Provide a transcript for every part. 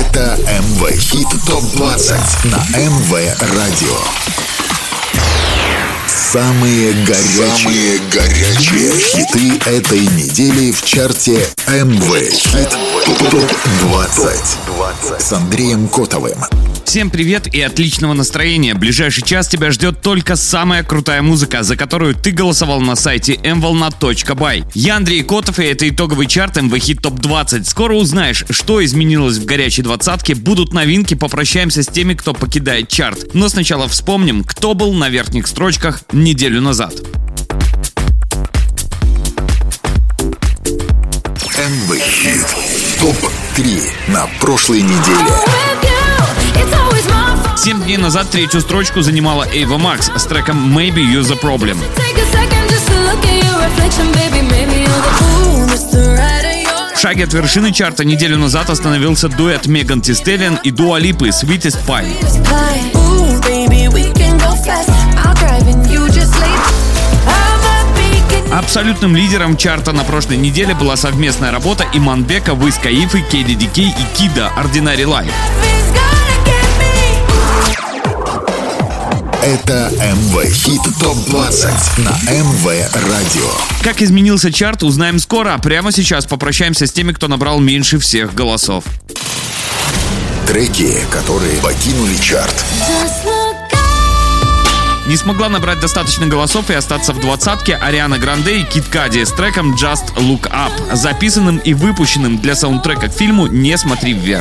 Это МВ Хит ТОП-20 на МВ Радио. Самые горячие хиты этой недели в чарте МВ Хит ТОП-20 с Андреем Котовым. Всем привет и отличного настроения. Ближайший час тебя ждет только самая крутая музыка, за которую ты голосовал на сайте mvolna.by. Я Андрей Котов, и это итоговый чарт МВ Хит ТОП-20. Скоро узнаешь, что изменилось в горячей двадцатке, будут новинки, попрощаемся с теми, кто покидает чарт. Но сначала вспомним, кто был на верхних строчках неделю назад. МВ Хит ТОП-3 на прошлой неделе. 7 дней назад третью строчку занимала Ava Max с треком Maybe You're the Problem. В шаге от вершины чарта неделю назад остановился дуэт Меган Ти Стэллион и Дуа Липы Sweetest Pie. Абсолютным лидером чарта на прошлой неделе была совместная работа Иманбека, Wiz Khalifa, KDDK и Kida Ordinary Life. Это МВ Хит ТОП-20 на МВ Радио. Как изменился чарт, узнаем скоро, а прямо сейчас попрощаемся с теми, кто набрал меньше всех голосов. Треки, которые покинули чарт. Не смогла набрать достаточно голосов и остаться в двадцатке Ариана Гранде и Кид Кади с треком Just Look Up, записанным и выпущенным для саундтрека к фильму «Не смотри вверх».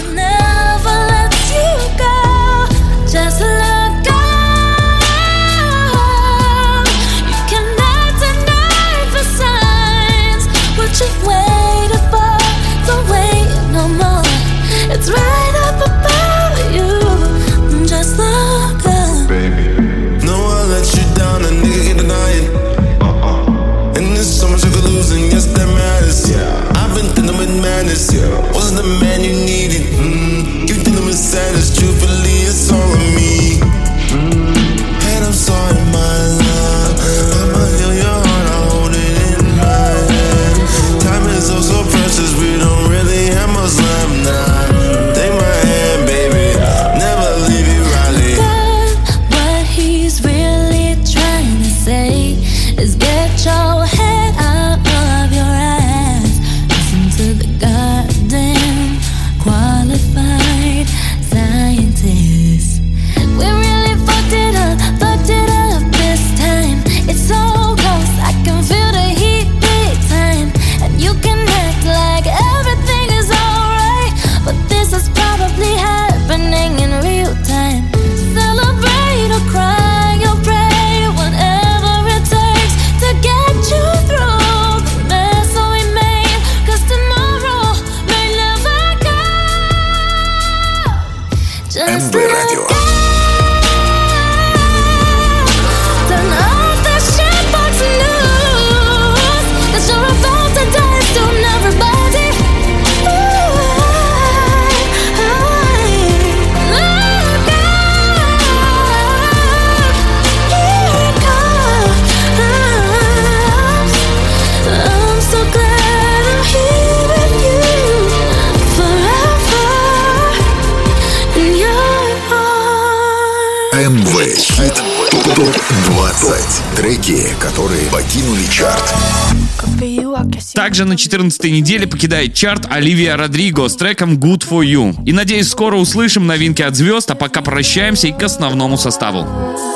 It's right up above you. Just look up, baby. No, I let you down, a nigga can't deny it. And there's so much you could lose, and yes, that matters. I've been dealing with madness. Wasn't the man you needed. You dealing with sadness. Truthfully, it's all on me. And I'm sorry, my love. I'ma heal your heart, I hold it in my hand. Time is oh so precious, we don't really have much left now. МВ Хит ТОП-20. Треки, которые покинули чарт. Также на 14-й неделе покидает чарт Оливия Родриго с треком Good For You. И надеюсь, скоро услышим новинки от звезд, а пока прощаемся и к основному составу.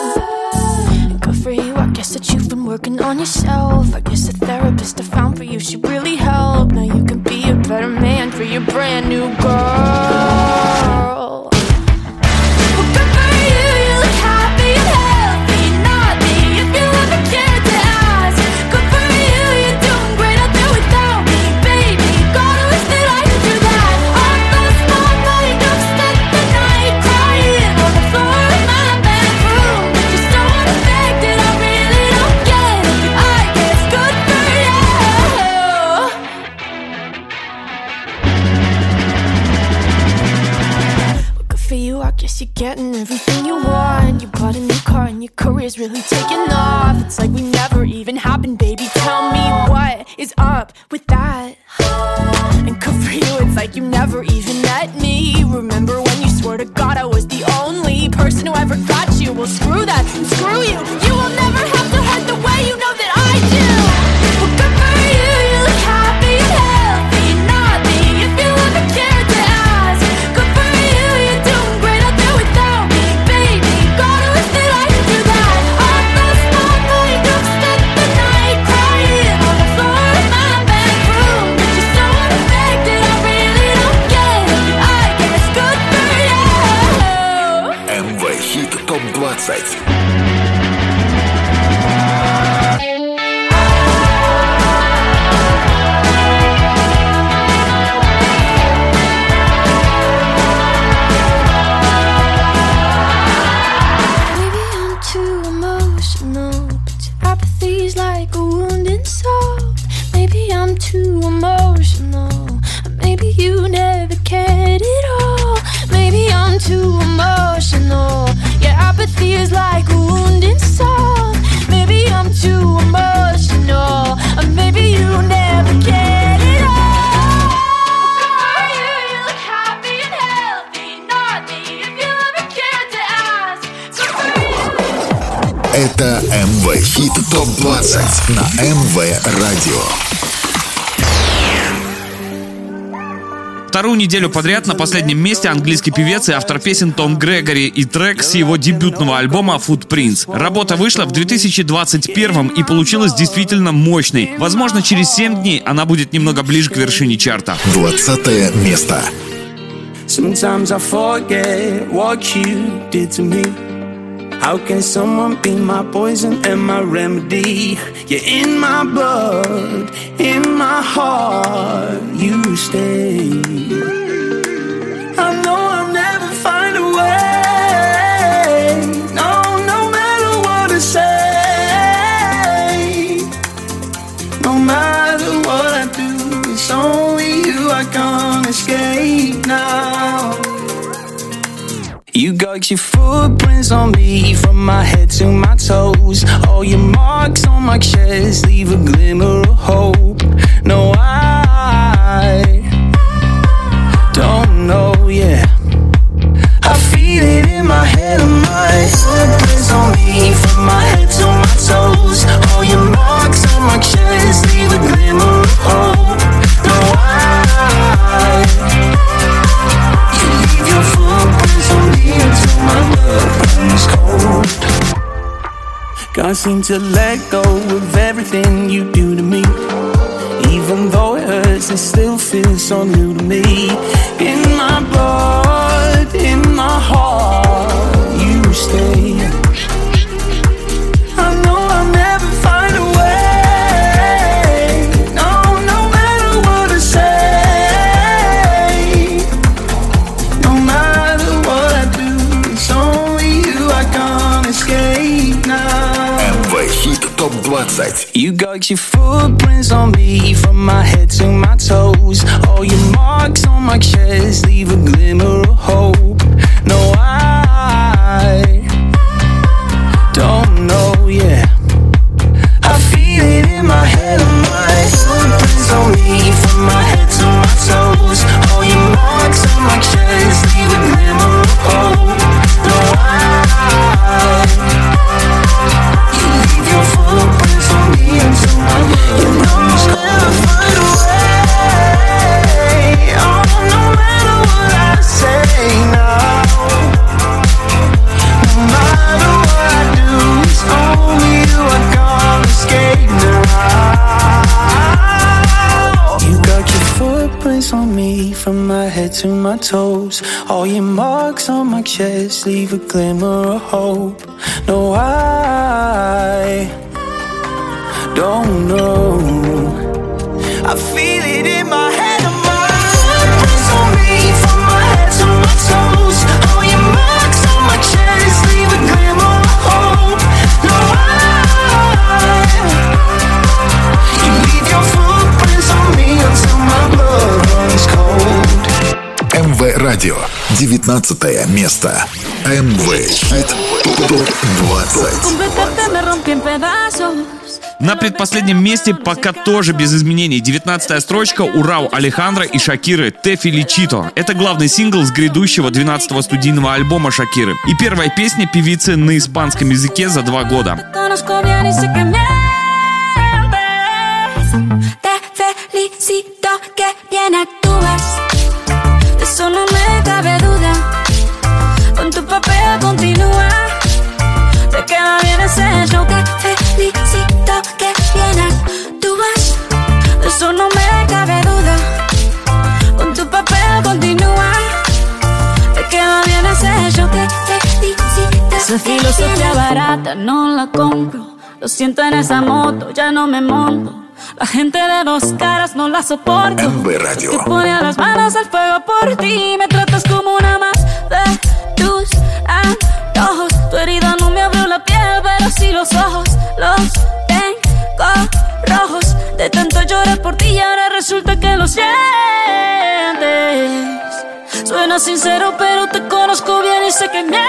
You're getting everything you want. You bought a new car and your career's really taking off. It's like we never even happened, baby. Tell me what is up with that. And good for you, it's like you never even met me. Remember forgot I was the only person who ever got you. Well, screw that and screw you. You will never have to hurt the way you know that I do. Well, good for you, you look happy and healthy. Not me, if you ever cared to ask. Good for you, you're doing great out there without me, baby. Gotta wish that I could do that. I lost my mind, I've spent the night crying on the floor of my bedroom. You're so unaffected, I really don't get it. I guess good for you. МВ Хит ТОП-20. Apathy's like a wounded soul. Maybe I'm too emotional. Maybe you never cared at all. Maybe I'm too emotional. Yeah, apathy is like a wounded soul. Maybe I'm too emotional. Maybe you never cared at all. You look happy and healthy. Not me, if you ever cared to ask. Good for you. Это МВ Хит ТОП-20 на МВ Радио. Вторую неделю подряд на последнем месте английский певец и автор песен Том Грегори и трек с его дебютного альбома Footprints. Работа вышла в 2021 и получилась действительно мощной. Возможно, через 7 дней она будет немного ближе к вершине чарта. 20 место. Sometimes I forget what you did to me. How can someone be my poison and my remedy? You're in my blood, in my heart, you stay. I know I'll never find a way. No matter what I say. No matter what I do, it's only you I can't escape now. You got your footprints on me from my head to my toes. All your marks on my chest leave a glimmer of hope. No, I don't know, yeah. I feel it in my head and my footprints on me from my head to my toes. All your marks on my chest leave a glimmer of hope. No, you leave your footprints on me until my blood runs cold. Can't seem to let go of everything you do to me. Even though it hurts, it still feels so new to me. In my blood, in my heart, you stay. I know I'll never find a way. No matter what I say. No matter what I do, it's only you I can't escape now. МВ Хит ТОП-20. You got your footprints on me from my head to my toes. All your marks on my chest leave a glimmer of hope. No, I don't know, yeah. I feel it in my head and my footprints on me from my head to my toes. All your marks on my chest leave a glimmer of hope. No, you leave your footprints on me until my blood runs cold. Never find a way. Oh, no matter what I say now. No matter what I do, it's only you I can't escape now. You got your footprints on me from my head to my toes. All your marks on my chest leave a glimmer of hope. No, I don't know. I feel it in my head and my footprints on me from my head to my toes. All your marks on my chest leave a glimmer of hope. No, you leave your footprints on me until my blood runs cold. МВ Радио. 19 место. МВ Хит ТОП-20. Completamente me rompí en pedazos. На предпоследнем месте пока тоже без изменений. 19-я строчка у Рау Алехандро и Шакиры «Te Felicito». Это главный сингл с грядущего 12-го студийного альбома Шакиры. И первая песня певицы на испанском языке за 2 года. Esa filosofía barata no la compro. Lo siento en esa moto, ya no me monto. La gente de 2 caras no la soporto. MV Radio. Que ponía las manos al fuego por ti. Me tratas como una más de tus antojos. Tu herida no me abrió la piel, pero sí los ojos. Los tengo rojos. De tanto llorar por ti y ahora resulta que lo sientes. Suena sincero, pero te conozco bien y sé que mientes.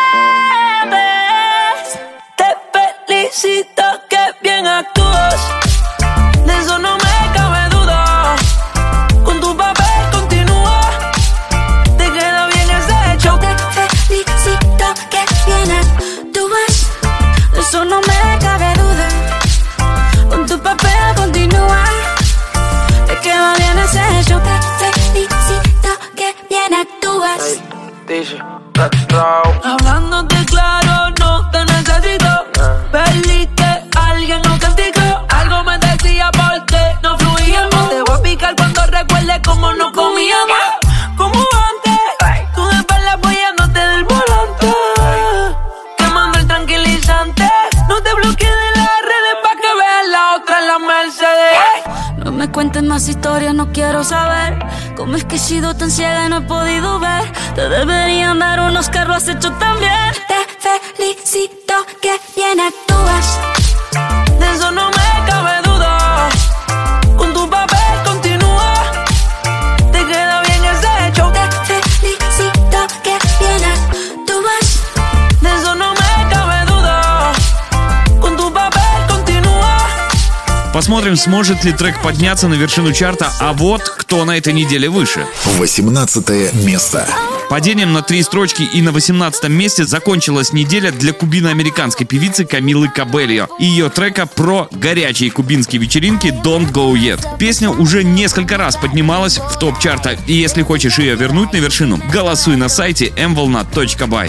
Te felicito, que bien actúas. De eso no me cabe duda. Con tu papel continúa. Te queda bien ese hecho. Te felicito, que bien actúas. De eso no me cabe duda. Con tu papel continúa. Te queda bien ese hecho. Te felicito, que bien actúas. Dice, Hablándote claro, no te necesito. Perdí que alguien nos castigó. Algo me decía porque no fluíamos. Te voy a picar cuando recuerde cómo nos comíamos. Como antes, tú de espalda apoyándote del volante. Quemando el tranquilizante. No te bloquees de las redes pa' que veas la otra en la Mercedes. No me cuentes más historias, no quiero saber. Cómo es que he sido tan ciega y no he podido ver. Te deberían dar un Oscar, lo has hecho tan bien. Te felicito, que bien actúas. De eso no me cabe duda. Con tu papel continúa. Te queda bien ese hecho. Te felicito, que bien actúas. De eso no me cabe duda. Con tu papel continúa. Посмотрим, сможет ли трек подняться на вершину чарта, а вот кто на этой неделе выше. 18 место. Падением на 3 строчки и на 18 месте закончилась неделя для кубино-американской певицы Камилы Кабельо и ее трека про горячие кубинские вечеринки «Don't Go Yet». Песня уже несколько раз поднималась в топ чарта, и если хочешь ее вернуть на вершину, голосуй на сайте mvolna.by.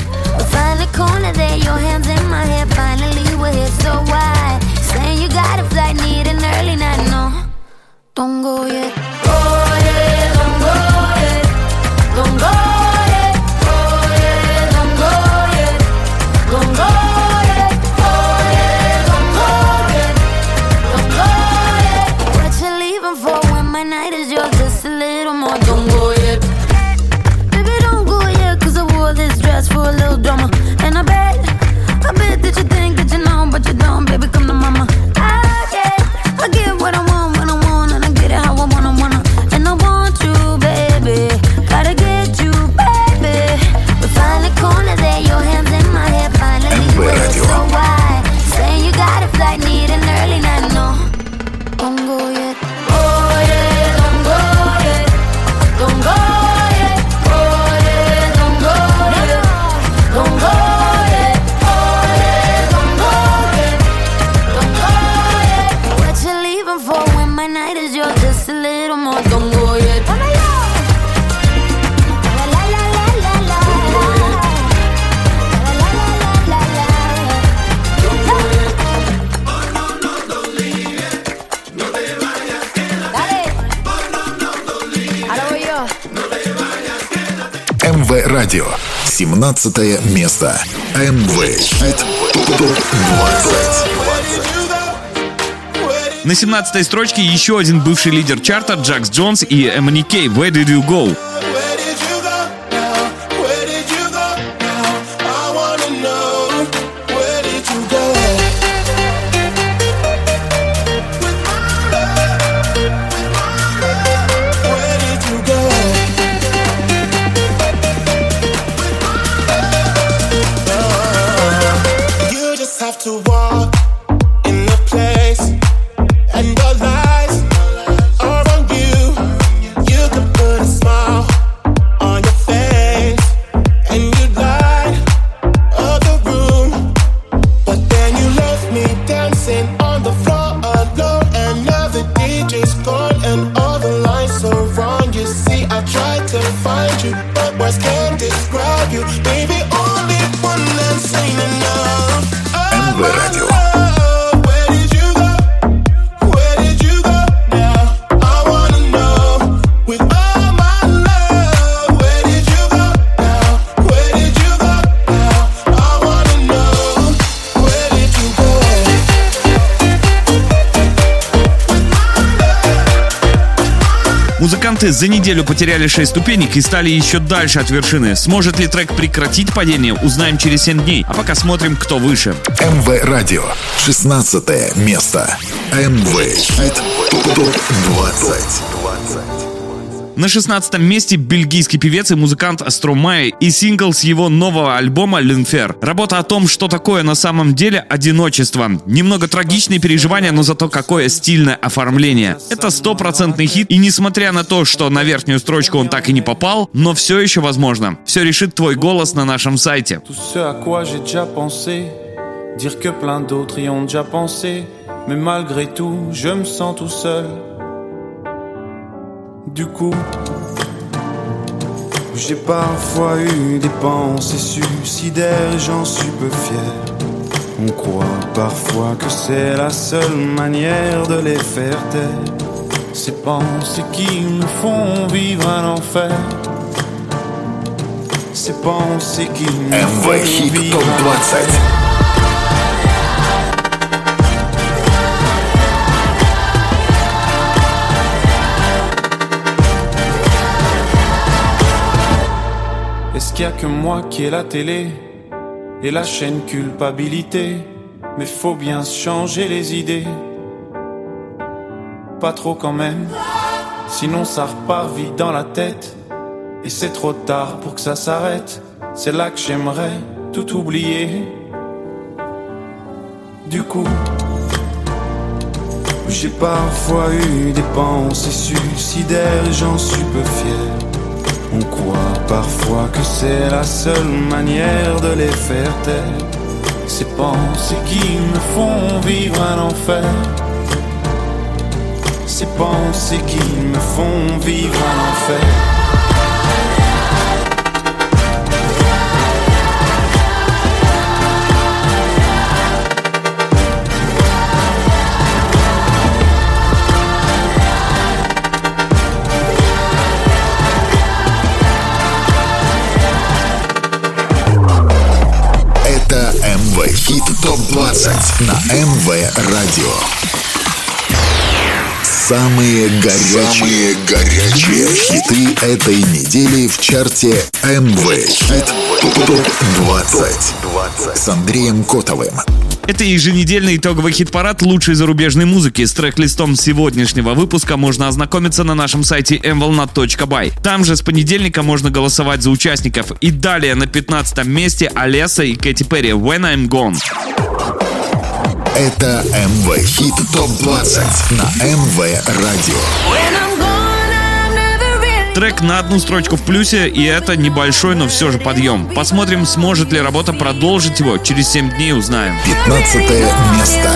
Don't go yet. Go yet, don't go yet. Don't go yet. Go yet, don't go yet. Don't go yet. Go yet, don't go yet. Don't go yet. What you leaving for when my night is yours? Just a little more. Don't go yet. Baby, don't go yet, 'cause I wore this dress for a little drama. And I bet that you think that you know, but you don't. Baby, come to mama. I get what I want when I want, and I get it how I wanna. And I want you, baby. Gotta get you, baby. We find the corner there, your hands in my hair. Finally, you were so wide. Saying you got a flight, need an early night. No, don't go yet. Go yet, don't go yet. Don't go yet. Go yet, don't go yet. Don't go yet. Go yet, don't go yet. Don't go yet. What you leaving for when my night is yours? Just a little more. Don't go yet. МВ Радио. 17 место. МВ Хит ТОП-20. На 17-й строчке еще один бывший лидер чарта Джакс Джонс и MNEK «Where Did You Go?». Where did you go now? Where did you go now? I wanna know. Where did you go? Where did you go? You just have to walk in the place to find you, but words can't describe you. Baby, only one that's ain't enough. МВ Радио. Where did you go? Where did you go now? I wanna know. With all my love, where did you go now? Where did you go now? I wanna know. Where did you go? Музыканты за неделю потеряли 6 ступенек и стали еще дальше от вершины. Сможет ли трек прекратить падение, узнаем через 7 дней. А пока смотрим, кто выше. МВ Радио. 16 место. МВ Хит ТОП-20. На 16 месте бельгийский певец и музыкант Стромае и сингл с его нового альбома «L'Enfer». Работа о том, что такое на самом деле одиночество. Немного трагичные переживания, но зато какое стильное оформление. Это 100% хит, и несмотря на то, что на верхнюю строчку он так и не попал, но все еще возможно. Все решит твой голос на нашем сайте. Tout ce à quoi j'ai déjà pensé, dire que plein d'autres y ont déjà pensé, mais malgré tout, je me sens tout seul. Du coup, j'ai parfois eu des pensées suicidaires et j'en suis peu fier. On croit parfois que c'est la seule manière de les faire taire. Ces pensées qui me font vivre un enfer. Ces pensées qui me МВ font Хит vivre un enfer. ТОП-20. Est-ce qu'il y a que moi qui ai la télé et la chaîne culpabilité? Mais faut bien se changer les idées. Pas trop quand même, sinon ça repart vite dans la tête. Et c'est trop tard pour que ça s'arrête. C'est là que j'aimerais tout oublier. Du coup, j'ai parfois eu des pensées suicidaires et j'en suis peu fier. On croit parfois que c'est la seule manière de les faire taire. Ces pensées qui me font vivre un enfer. Ces pensées qui me font vivre un enfer. Это МВ Хит ТОП-20 на МВ Радио. Самые горячие хиты этой недели в чарте МВ Хит ТОП-20 с Андреем Котовым. Это еженедельный итоговый хит-парад лучшей зарубежной музыки. С трек-листом сегодняшнего выпуска можно ознакомиться на нашем сайте mvolnat.by. Там же с понедельника можно голосовать за участников. И далее на 15 месте Алеса и Кэти Перри «When I'm Gone». Это МВ Хит ТОП-20 на МВ Радио. Трек на одну строчку в плюсе, и это небольшой, но все же подъем. Посмотрим, сможет ли работа продолжить его. Через 7 дней узнаем. 15 место.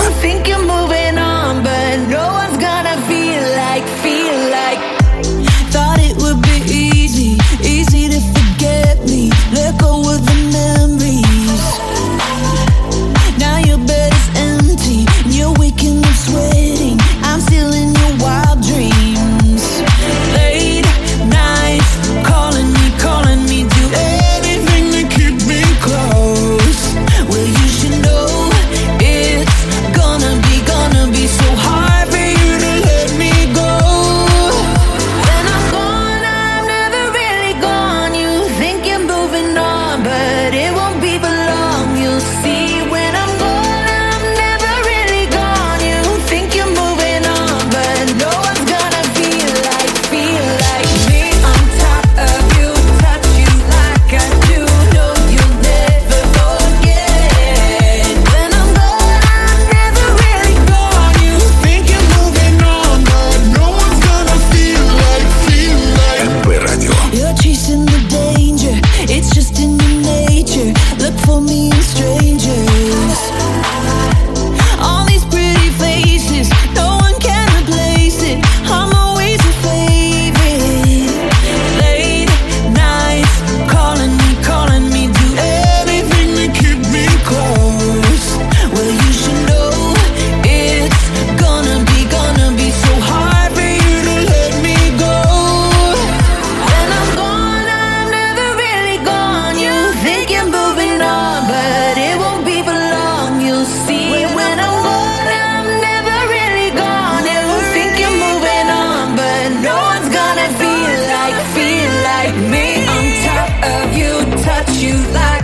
Gonna be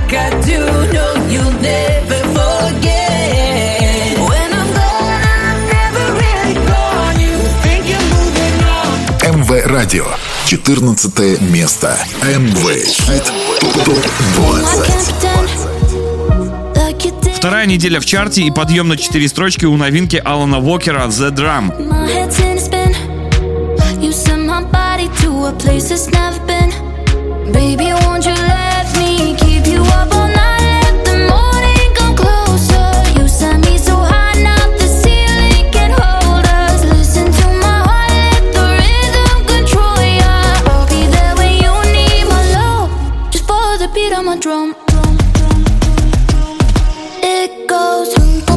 like I do. No, you'll never forget. When I'm gone, I'm never really gone. You think you're moving on. МВ Радио. 14 место. МВ Хит ТОП-20. Вторая неделя в чарте и подъем на 4 строчки у новинки Алана Уокера «The Drum». My head's in a spin. You send my body to a place it's never been. Baby, won't you let me keep you up all night? Let the morning come closer. You send me so high, now the ceiling can hold us. Listen to my heart, let the rhythm control ya. I'll be there when you need my love. Just follow the beat of my drum. It goes.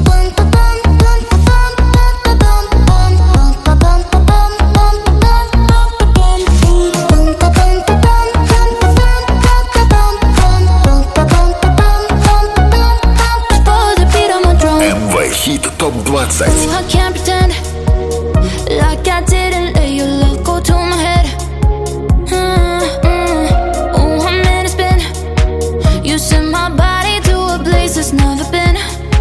Хит ТОП-20. I can't pretend like I didn't let your love go to my head. Oh, I'm in a spin. You sent my body to a place it's never been.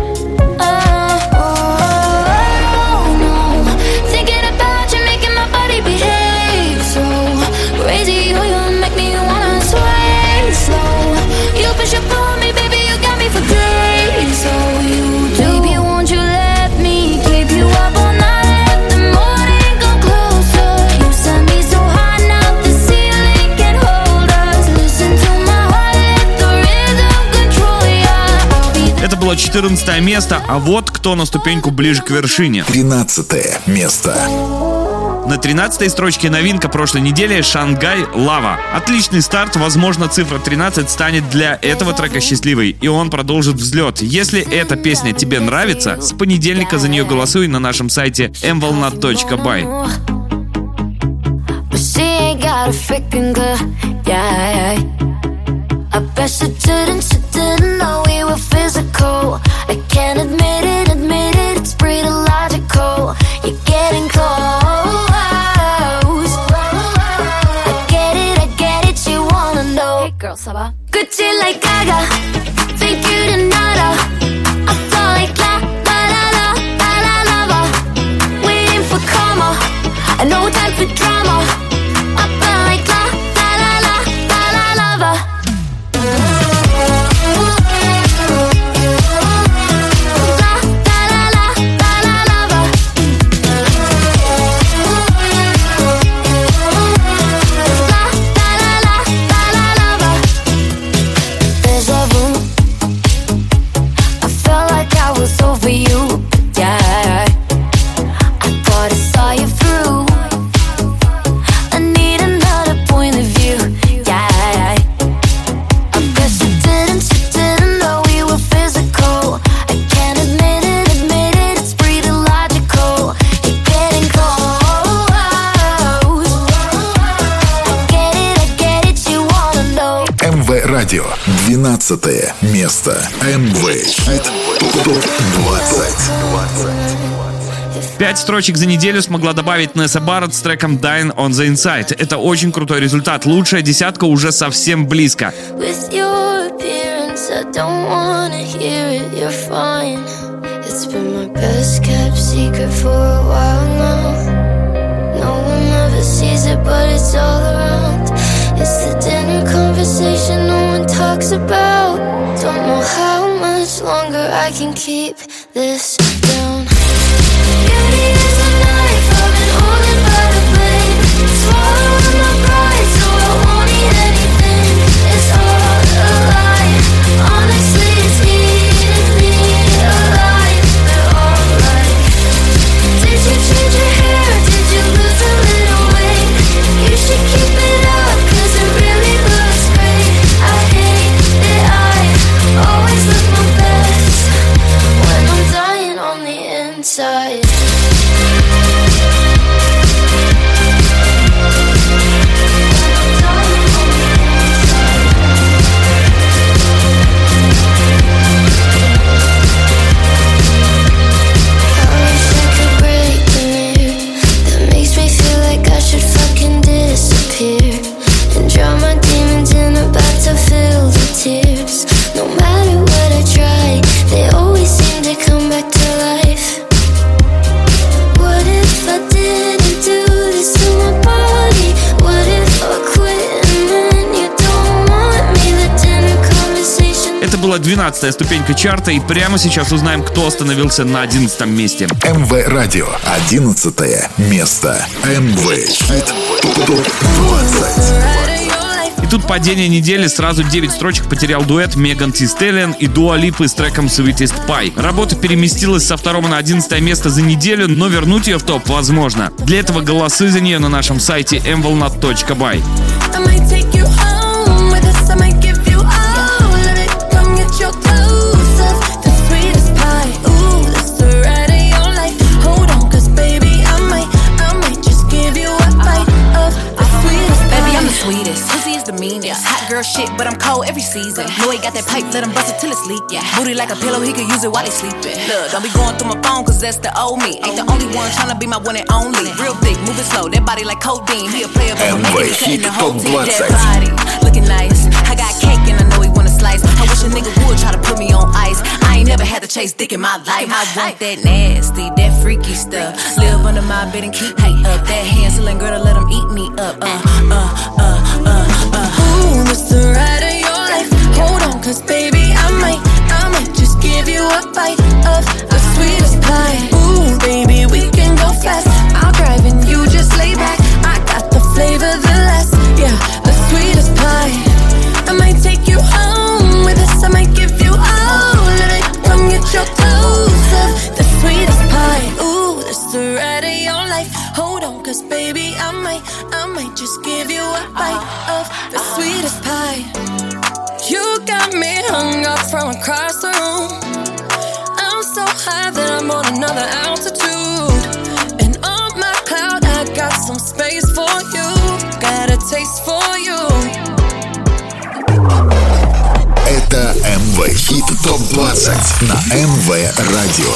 No. Thinking about you, making my body behave so crazy. You make me wanna sway slow. You push up on me, baby, you got me for days. So you do. Baby, won't you let me keep you up all night? Let the morning come closer. You send me so high, now the ceiling can hold us. Listen to my heart, let the rhythm control ya. I'll be there. Это было 14 место, а вот кто на ступеньку ближе к вершине. 13 место. На 13-й строчке новинка прошлой недели «Шангай Лава». Отличный старт, возможно, цифра 13 станет для этого трека счастливой, и он продолжит взлет. Если эта песня тебе нравится, с понедельника за нее голосуй на нашем сайте mvolnat.by. But she ain't got a freaking clue, yeah. I bet she didn't know we were physical. I can't admit it, it's pretty logical. You're getting close. I get it, you wanna know. Hey girl, ça va? Gucci like Gaga, think you did nada. I feel like la lava. Waiting for karma, no time for drama. I feel like la lava. Радио. 12 место. МВ Хит ТОП-20. 5 строчек за неделю смогла добавить Несса Барретт с треком Dying on the Inside. Это очень крутой результат. Лучшая десятка уже совсем близко. With your appearance, I don't wanna hear it, you're fine. It's been my best kept secret for a while now. No one ever sees it, but it's all around. It's the dinner conversation no one talks about. Don't know how much longer I can keep this down. Beauty is a knife, I've been holding by the blade. Swallowing my pride, so I won't eat anything. It's all a lie. Honestly, it's eating me alive. They're all like, did you change your hair? Did you lose a little weight? You should keep it up, 'cause it really looks great. I hate that I always look my best when I'm dying 12-я ступенька чарта, и прямо сейчас узнаем, кто остановился на 11-м месте. МВ Радио, 11 место. МВ Хит ТОП 20. И тут падение недели, сразу 9 строчек потерял дуэт Меган Ти Стеллион и Дуа Липы с треком Sweetest Pie. Работа переместилась со 2 на 11 место за неделю, но вернуть ее в топ возможно. Для этого голосы за нее на нашем сайте mvolnat.by. Hot girl shit, but I'm cold every season. Know he got that pipe, let him bust it till it's leak. Yeah. Booty like a pillow, he could use it while he sleeping. Look, don't be going through my phone, cause that's the old me. Ain't the only one tryna be my one and only. Real thick, moving slow, that body like codeine. He a player, but I'm making it cutting the whole team. That body, looking nice. I got cake and I know he wanna slice. I wish a nigga would try to put me on ice. I ain't never had to chase dick in my life. I want that nasty, that freaky stuff. Live under my bed and keep me up. That Hansel girl to let him eat me up. Ooh, this the ride of your life. Hold on, cause baby, I might just give you a bite of the sweetest pie. Ooh, baby, we can go fast. I'll drive and you just lay back. I got the flavor, the last, yeah, the sweetest pie. I might take you home with us. I might give you all of it. Come get your toes up, the sweetest pie. Ooh, this the ride of your life. Hold on, cause baby, I might just give you a bite of the sweetest pie. You got me hung up from across the room. I'm so high that I'm on another altitude. And on my cloud, I got some space for you. Got a taste for you. Это МВ Хит ТОП 20 на МВ Радио.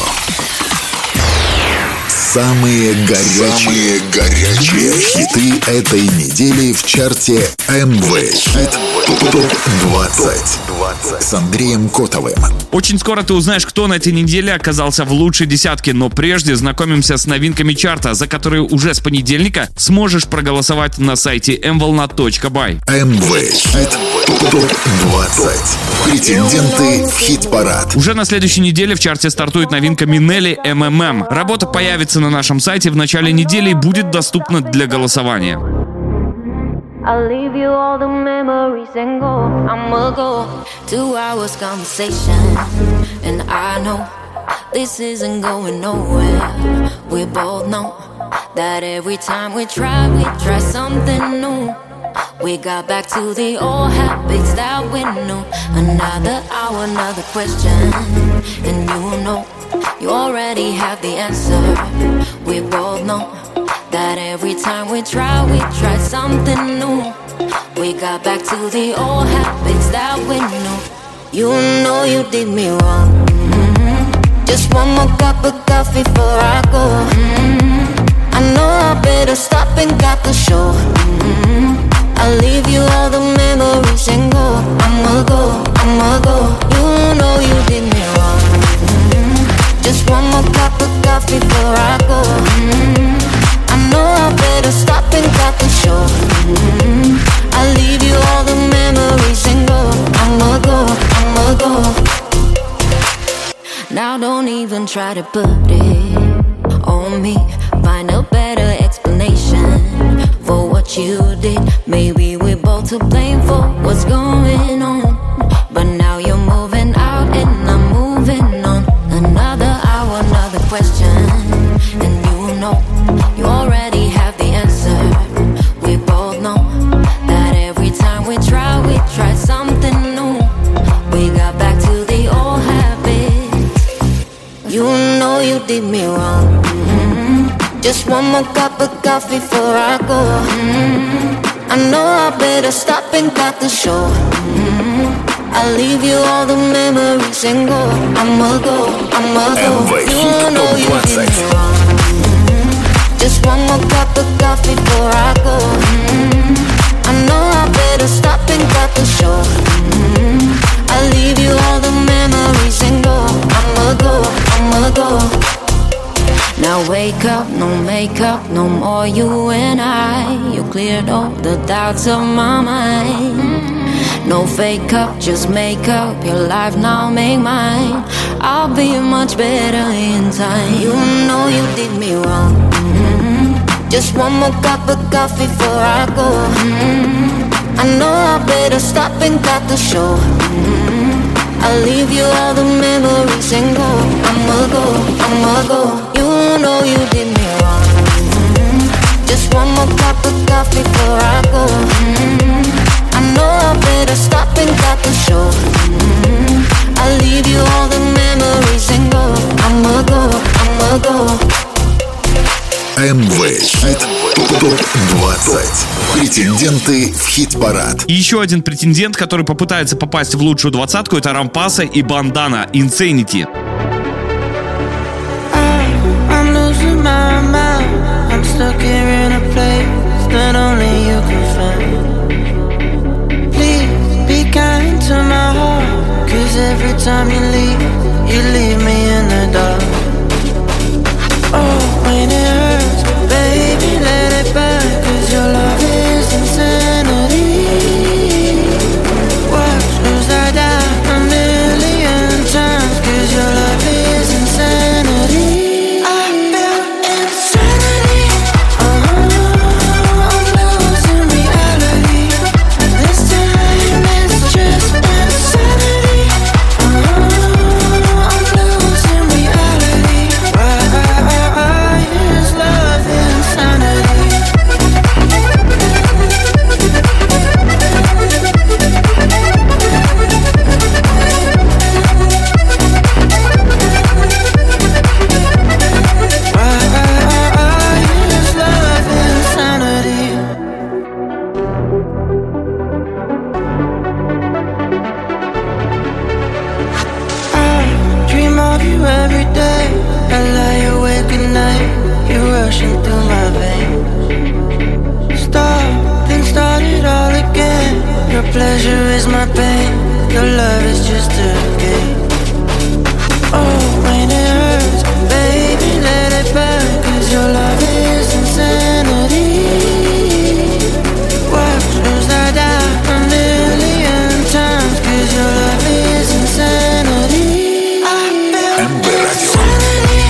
Самые горячие хиты этой недели в чарте МВ Хит ТОП 20 с Андреем Котовым. Очень скоро ты узнаешь, кто на этой неделе оказался в лучшей десятке, но прежде знакомимся с новинками чарта, за которые уже с понедельника сможешь проголосовать на сайте mvolnat.by. МВ Хит ТОП 20. Претенденты в хит-парад. Уже на следующей неделе в чарте стартует новинка Минелли MMM. Работа появится на нашем сайте в начале недели и будет доступна для голосования. I'll leave you all the memories and go. I'ma go 2 hours conversation, and I know this isn't going nowhere. We both know that every time we try something new. We got back to the old habits that we knew. Another hour, another question, and you know you already have the answer. We both know that every time we try something new. We got back to the old habits that we knew. You know you did me wrong. Just one more cup of coffee before I go. I know I better stop and got the show. I'll leave you all the memories and go. I'ma go. You know you did me wrong. Just one more cup of coffee before I go. I know I better stop and got the show. I'll leave you all the memories and go. I'ma go. Now don't even try to put it on me. Find a better explanation for what you did. Maybe we're both to blame for what's going on. But now you're moving out and I'm moving on. Another hour, another question, and you know you already have the answer. We both know that every time we try something new. We got back to the old habits. You know you did me wrong. Just one more cup of coffee before I go. I know I better stop and cut the show. I'll leave you all the memories and go. I'ma go. You know you did me wrong. Just one more cup of coffee before I go. I know I better stop and cut the show. I'll leave you all the memories and go. I'ma go. Now wake up, no makeup, no more you and I. You cleared all the doubts of my mind. No fake up, just make up your life now, make mine. I'll be much better in time. You know you did me wrong. Just one more cup of coffee before I go. I know I better stop and cut the show. I'll leave you all the memories and go. I'ma go. You know you did me wrong. Just one more cup of coffee before I go. I know I better stop and cut the show. I'll leave you all the memories and go. I'ma go. МВ Хит ТОП-20. Претенденты в хит-парад. И еще один претендент, который попытается попасть в лучшую двадцатку, это Рампаса и Бандана Insanity. I'm losing my mind. I'm stuck here in a place that only you can find. Please be kind to my heart, 'cause every time you leave me in the dark. Oh, when it hurts, baby, let it burn, 'cause your love is insanity. Watch as I die a million times, 'cause your love is insanity. I feel insanity. I'm losing reality. This time it's just insanity. I'm losing reality. Why is love insanity? Dream of you every day. I lie awake at night. You're rushing through my veins. Stop, then start it all again. Your pleasure is my pain. Your love is just a game. Oh, when it hurts, baby, let it burn, 'cause your love is insanity. Watch as I die a million times, 'cause your love is insanity. I feel МВ Радио. insanity.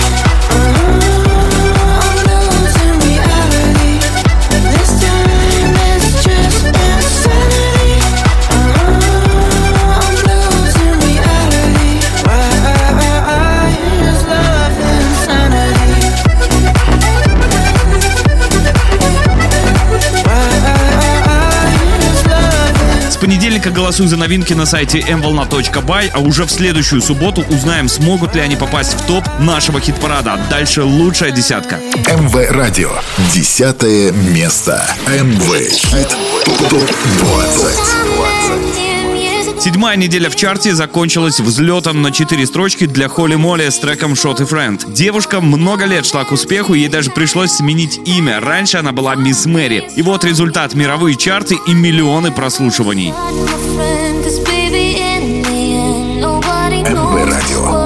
I'm losing reality. This time it's just insanity. I'm losing reality. Why is love insanity? С понедельника голосуй за новинки на сайте mvolna.by, а уже в следующую субботу узнаем, смогут ли они попасть в топ нашего хит-парада. Дальше лучшая десятка. МВ Радио. 10 место. МВ Хит ТОП-20. Седьмая неделя в чарте закончилась взлетом на 4 строчки для Холли Молли с треком Shot и Friend. Девушка много лет шла к успеху, ей даже пришлось сменить имя. Раньше она была Мисс Мэри. И вот результат: мировые чарты и миллионы прослушиваний. МВ Радио.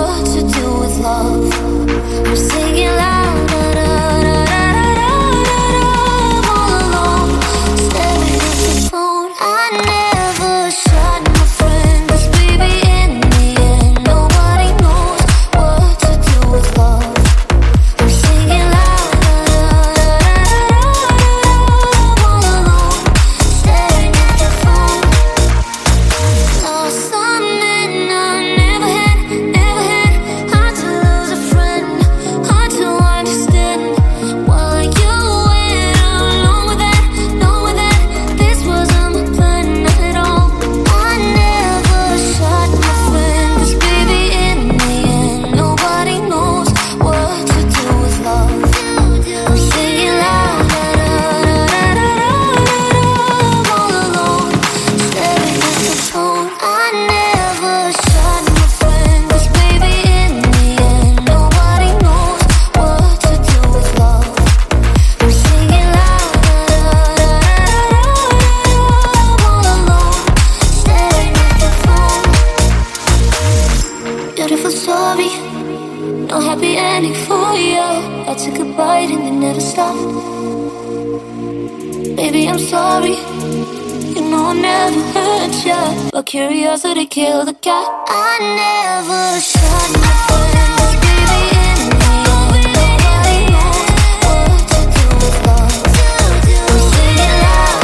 Baby, I'm sorry. You know I never hurt you. but curiosity killed the cat. I never shot my friends, baby, in the end. Nobody knows what you do with love. I'm singing loud,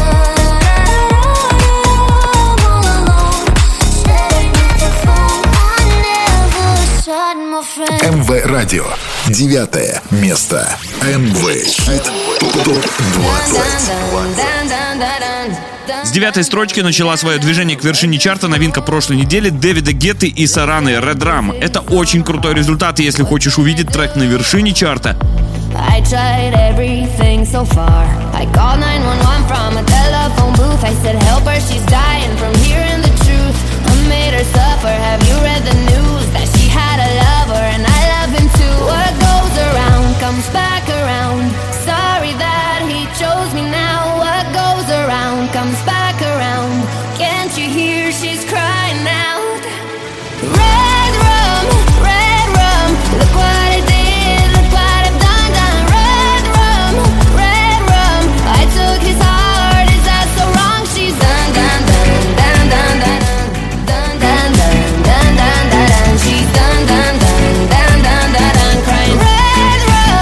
I'm all alone, staring at the phone. I never shot my friends. МВ Радио. 9 место. МВ Хит ТОП-20. С 9-й строчки начала свое движение к вершине чарта новинка прошлой недели Дэвида Гетты и Сараны Red Rum. Это очень крутой результат, если хочешь увидеть трек на вершине чарта. I tried everything so far. I called 911 from a telephone booth. I said help her, she's dying from hearing the truth. I made her suffer. Have you read the news that she had a lover and I love him too? What goes around comes back around. Sorry that he chose me now. What goes around comes back around. Can't you hear she's crying out? Red rum, look what I did, look what I've done, done. Red rum, I took his heart, is that so wrong? She's done, done, done, done, done, done, done, done, done, done, done, done. She's done, done, done, done, done, done, done, crying. Red rum,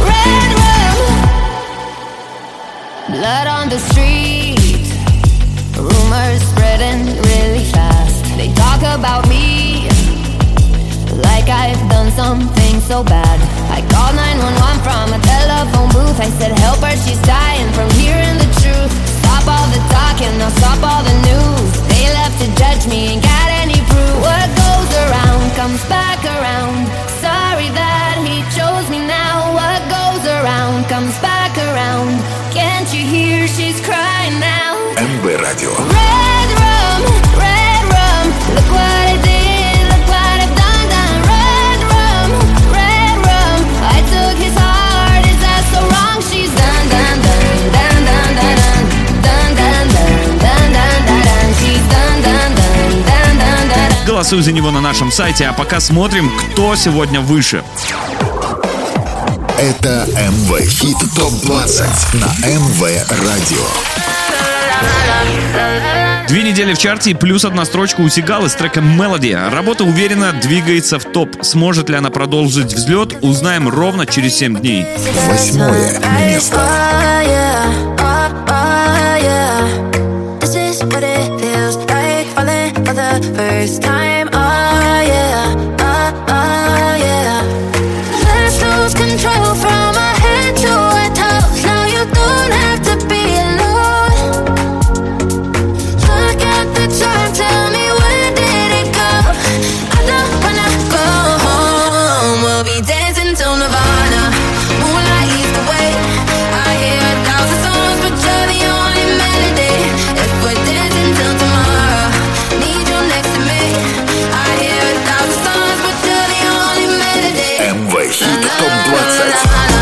blood on the street, rumors spreading really fast. They talk about me like I've done something so bad. I called 911 from a telephone booth. I said help her, she's dying from hearing the truth. Stop all the talking, now stop all the news. They left to judge me, ain't got any proof. What goes around comes back around. Sorry that he chose me now. What goes around comes back around. Can't you hear she's crying now? МВ Радио. Red rum, look what I did, look what I've done, done. Red rum, I took his heart, is that so wrong? She's done, done, done, done, done, done, done, done, done, done, done, done. She's done, done, done, done, done, done. Голосуй за него на нашем сайте, а пока смотрим, кто сегодня выше. Это МВ Хит ТОП-20 на МВ Радио. 2 недели в чарте и плюс 1 строчка у Сигалы с треком «Melody». Работа уверенно двигается в топ. Сможет ли она продолжить взлет, узнаем ровно через 7 дней. 8 место. Control from our head to our toes. Now you don't have to be alone. Look at the time, tell me when did it go? I don't wanna go home. We'll be dancing till Nirvana. Moonlight leads the way. I hear 1,000 songs, but you're the only melody. If we're dancing till tomorrow, need you next to me. I hear 1,000 songs, but you're the only melody. МВ Хит ТОП-20.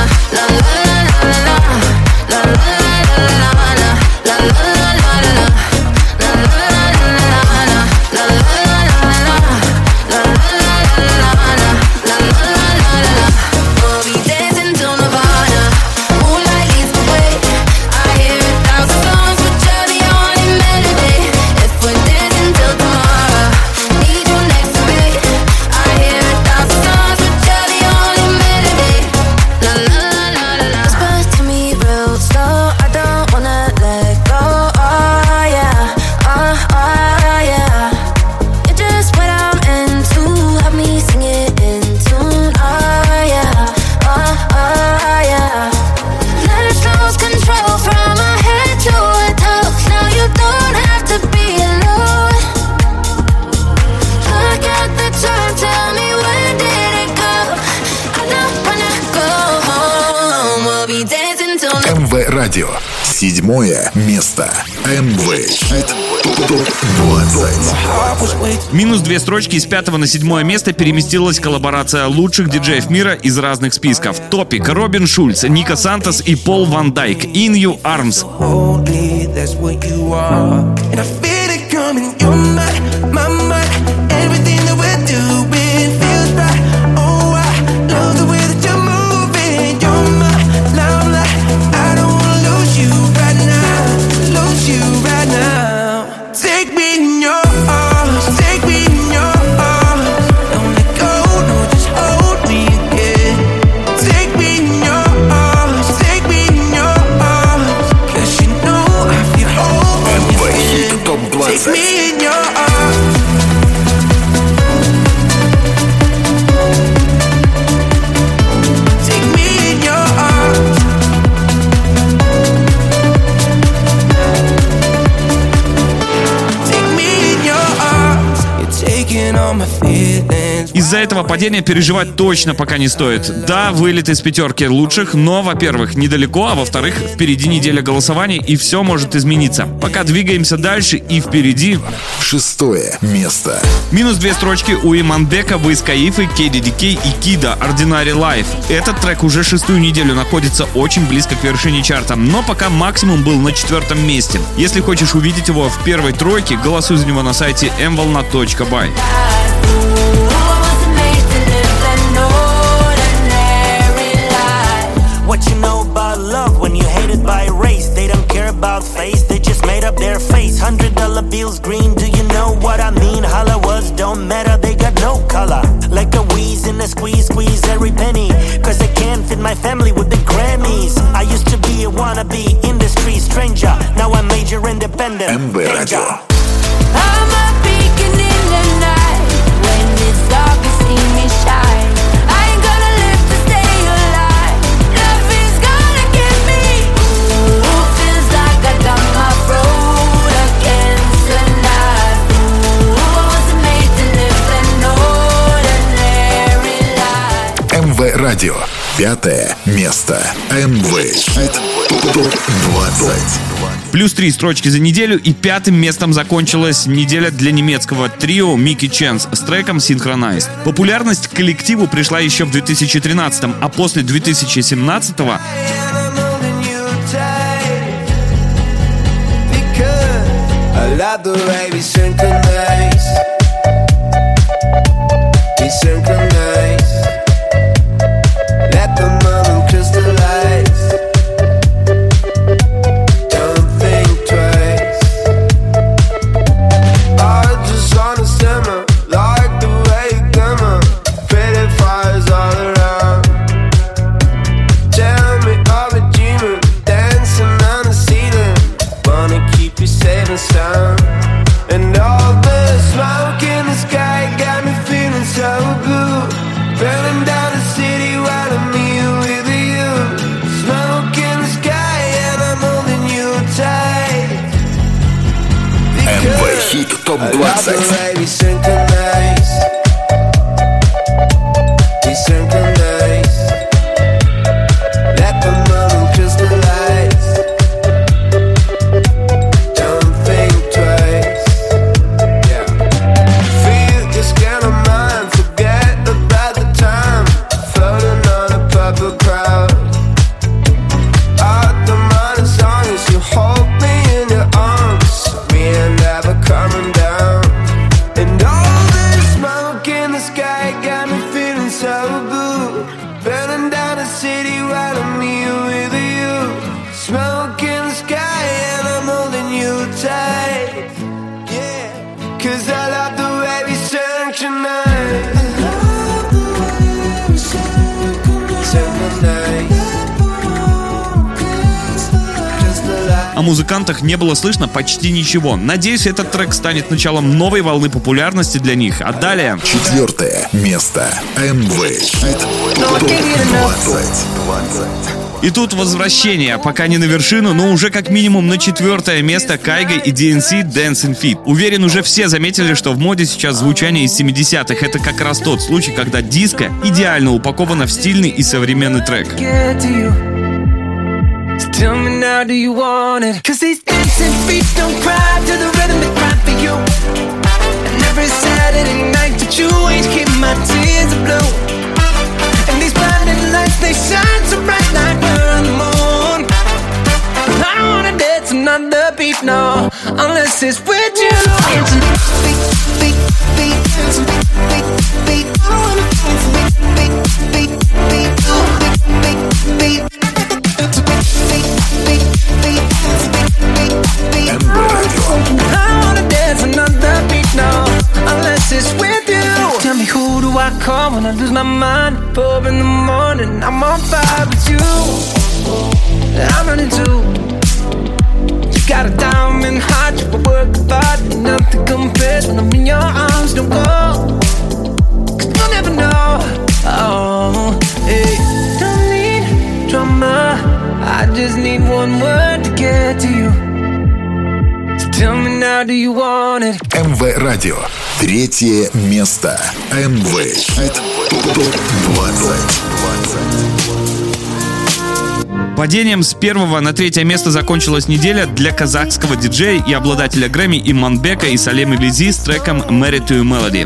МВ Радио. 7 место. МВ Хит ТОП-20. Минус 2 строчки с 5 на 7 место переместилась коллаборация лучших диджеев мира из разных списков. Топик, Робин Шульц, Ника Сантос и Пол Ван Дайк. In You Arms. Take me in your 20. Из-за этого падения переживать точно пока не стоит. Да, вылет из пятерки лучших, но, во-первых, недалеко, а во-вторых, впереди неделя голосований, и все может измениться. Пока двигаемся дальше, и впереди... 6 место. Минус 2 строчки у Иманбека, Wiz Khalifa, KDDK и Кида Ordinary Life. Этот трек уже 6-ю неделю находится очень близко к вершине чарта, но пока максимум был на 4-м месте. Если хочешь увидеть его в первой тройке, голосуй за него на сайте mvolna.by. What you know about love when you hated by race? They don't care about face, they just made up their face. $100 bills green, do you know what I mean? Holla was don't matter, they got no color. Like a wheeze in a squeeze, squeeze every penny. Cause they can't fit my family with the Grammys. I used to be a wannabe industry stranger. Now I'm major independent. MV Radio. I'm a beacon in the night. When it's dark, you see me shine. I ain't gonna live to stay alive. Love is gonna get me. Ooh, feels like I got my road against the night. Ooh, I wasn't made to live an ordinary life. МВ Radio. 5 место. МВ Хит ТОП 20. Плюс 3 строчки за неделю, и 5-м местом закончилась неделя для немецкого трио Mickey Chance с треком Synchronized. Популярность к коллективу пришла еще в 2013-м, а после 2017-го Хит ТОП 20. О музыкантах не было слышно почти ничего. Надеюсь, этот трек станет началом новой волны популярности для них. А далее... 4 место. МВ Хит ТОП 20. И тут возвращение, пока не на вершину, но уже как минимум на 4 место Кайга и DNC Dancing Feet. Уверен, уже все заметили, что в моде сейчас звучание из 70-х. Это как раз тот случай, когда диско идеально упаковано в стильный и современный трек. Tell me now, do you want it? Cause these dancing feet don't cry to the rhythm they cry for you. And every Saturday night that you ain't keep my tears are blue. And these blinding lights, they shine so bright like we're on the moon. I don't wanna dance another beat, no, unless it's with you. Dancing feet, feet, feet, dancing feet, feet, I wanna dance feet, feet, feet, feet, feet, feet, feet. I wanna dance another beat now, unless it's with you. Tell me, who do I call when I lose my mind? 4 in the morning, I'm on fire with you. I'm running too. You got a diamond heart, you work hard, you know want it. МВ Радио. Третье место. МВ Хит ТОП-20. Падением с 1 на 3 место закончилась неделя для казахского диджея и обладателя Грэмми Иманбека и Салемы Лизи с треком «Married to Melody».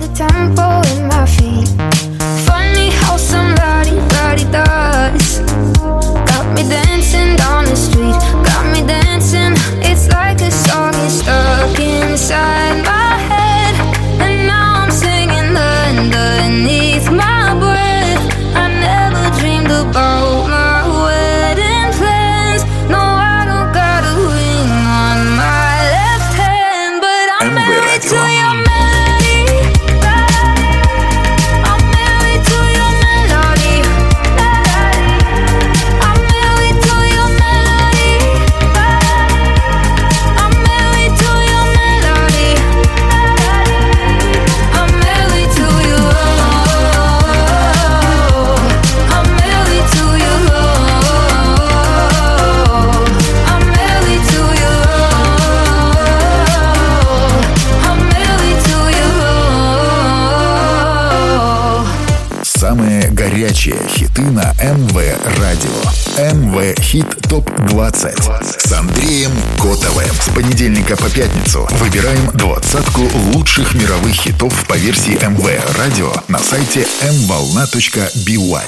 Горячие хиты на МВ Радио. МВ Хит ТОП-20 с Андреем Котовым. С понедельника по пятницу выбираем 20-ку лучших мировых хитов по версии МВ Радио на сайте mvolna.by.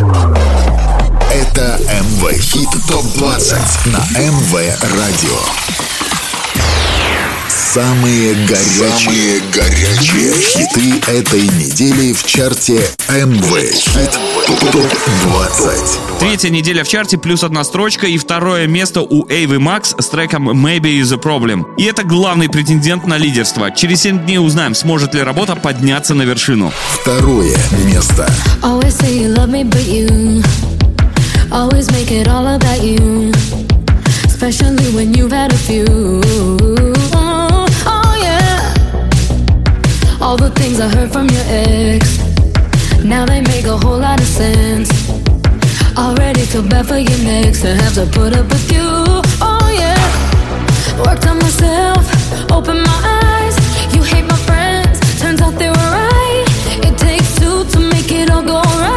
Это МВ Хит ТОП-20 на МВ Радио. Самые горячие хиты этой недели в чарте МВ Хит ТОП-20. Третья неделя в чарте, плюс 1 строчка, и 2 место у Эйвы Макс с треком «Maybe is a Problem». И это главный претендент на лидерство. Через 7 дней узнаем, сможет ли работа подняться на вершину. 2 место. Always say you love me, but you always make it all about you, especially when you've had a few. All the things I heard from your ex, now they make a whole lot of sense. Already feel bad for your next to have to put up with you. Oh yeah, worked on myself, opened my eyes. You hate my friends, turns out they were right. It takes two to make it all go right.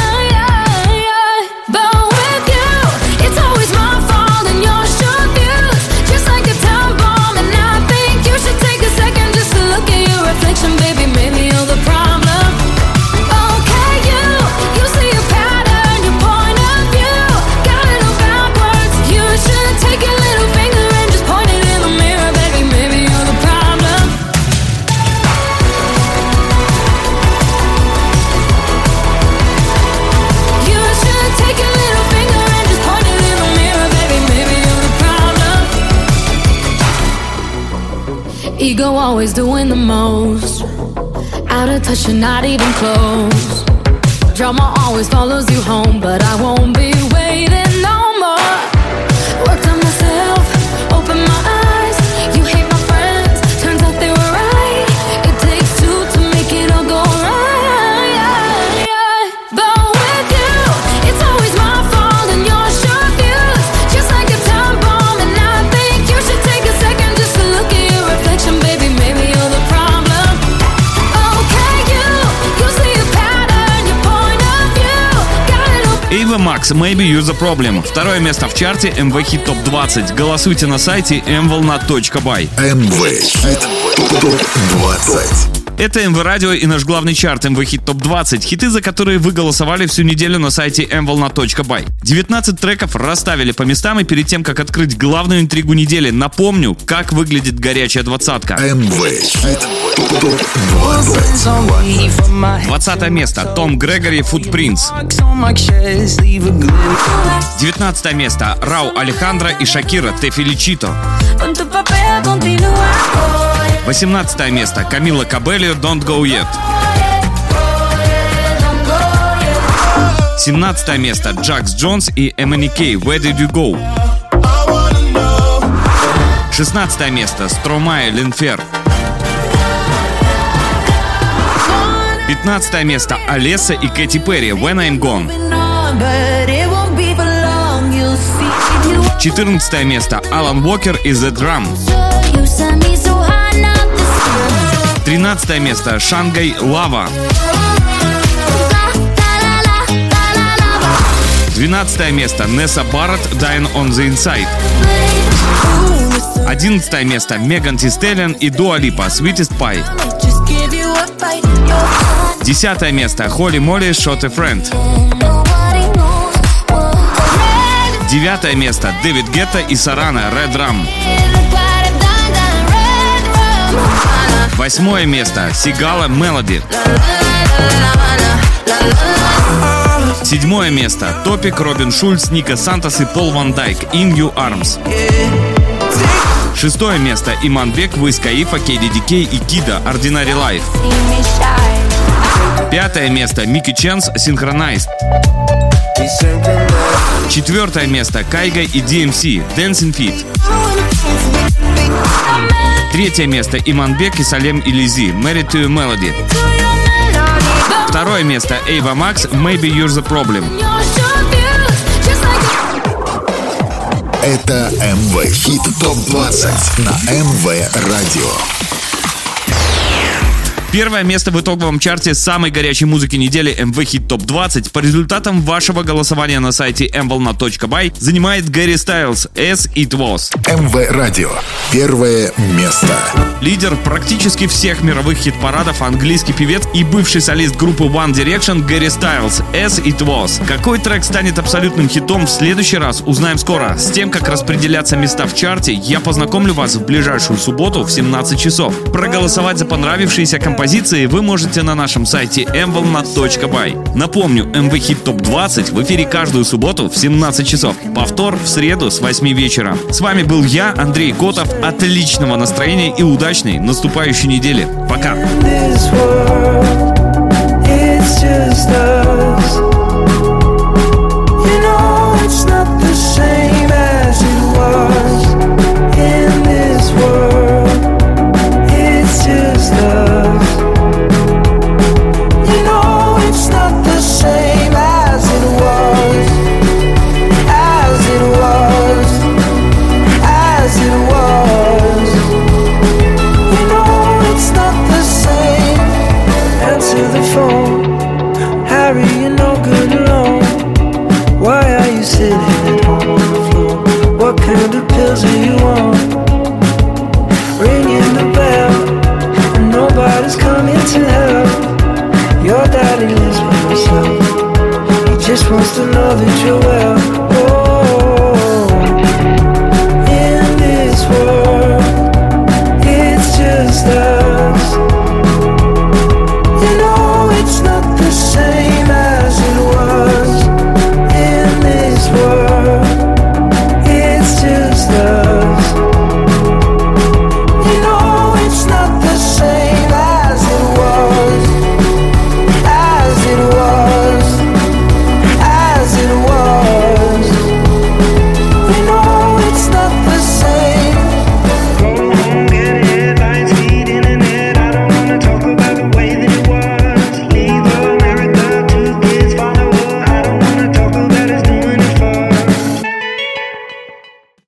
But with you, it's always my fault and your short views, just like a time bomb. And I think you should take a second just to look at your reflection, baby. Maybe you're the problem. Okay, you see a pattern, your point of view got it all backwards. You should take your little finger and just point it in the mirror, baby. Maybe you're the problem. You should take your little finger and just point it in the mirror, baby. Maybe you're the problem. Ego always doing the most, out of touch, you're not even close. Drama always follows you home, but I won't be waiting no more. Worked on myself, opened my eyes. You hate my friends, turns out they were right. It takes two to make it all go right. But with you, it's always my fault and your short views, just like a time bomb. And I think you should take a second just to look at your reflection, baby. Maybe you're the problem. Okay, you see a pattern, your point of view got it all. Эйва Макс, «Maybe You're the Problem». 2 место в чарте МВ Хит ТОП-20. Голосуйте на сайте mvolna.by. МВ Хит ТОП-20. Это МВ Радио и наш главный чарт МВ Хит ТОП-20. Хиты, за которые вы голосовали всю неделю на сайте mvolna.by. 19 треков расставили по местам, и перед тем, как открыть главную интригу недели, напомню, как выглядит горячая двадцатка. МВ Хит ТОП-20. 20 место. Том Грегори, Footprints. 19 место. Рау Алехандро и Шакира, Те Феличито. 18 место. Камила Кабелло, Don't Go Yet. 17 место. Джакс Джонс и MNEK, Where Did You Go. 16 место. Стромае, Линфер. 15 место. Алесса и Кэти Перри, When I'm Gone. 14 место. Алан Уокер и The Drum. 13 место Шангай Лава. 12 место Несса Барретт Dying on the Inside. 11 место Меган Ти Стэллион и Дуа Липа Sweetest Pie. 10 место Холли Молли Shot a Friend. 9 место Дэвид Гетта и Сарана Red Rum. 8 место Сигала Melody. 7 место Топик, Робин Шульц, Ника Сантос и Пол Ван Дайк In Your Arms. 6 место Иманбек, Wiz Khalifa, KDDK и Кида Ordinary Life. 5 место Микки Ченс Synchronized. 4 место Кайга и DMC Dancing Feet. 3 место Иманбек и Салем Илизи Married to a Melody. 2 место Ava Max Maybe You're the Problem. Это МВ Хит ТОП-20 на МВ Радио. Первое место в итоговом чарте самой горячей музыки недели МВ Хит ТОП-20 по результатам вашего голосования на сайте mvolna.by занимает Гэри Стайлз As It Was. МВ Радио. Первое место. Лидер практически всех мировых хит-парадов, английский певец и бывший солист группы One Direction Гэри Стайлз As It Was. Какой трек станет абсолютным хитом в следующий раз, узнаем скоро. С тем, как распределяться места в чарте, я познакомлю вас в ближайшую субботу в 17 часов. Проголосовать за понравившиеся композиции вы можете на нашем сайте mvolna.by. Напомню, МВ Хит ТОП-20 в эфире каждую субботу в 17 часов. Повтор в среду с 8 вечера. С вами был я, Андрей Котов. Отличного настроения и удачной наступающей недели. Пока! This world, it's just us.